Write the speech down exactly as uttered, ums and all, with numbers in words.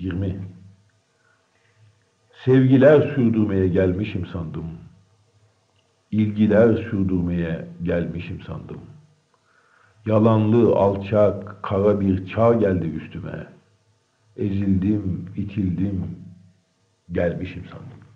yirmi. Sevgiler sürdürmeye gelmişim sandım. İlgiler sürdürmeye gelmişim sandım. Yalanlı, alçak, kara bir çağ geldi üstüme. Ezildim, itildim, gelmişim sandım.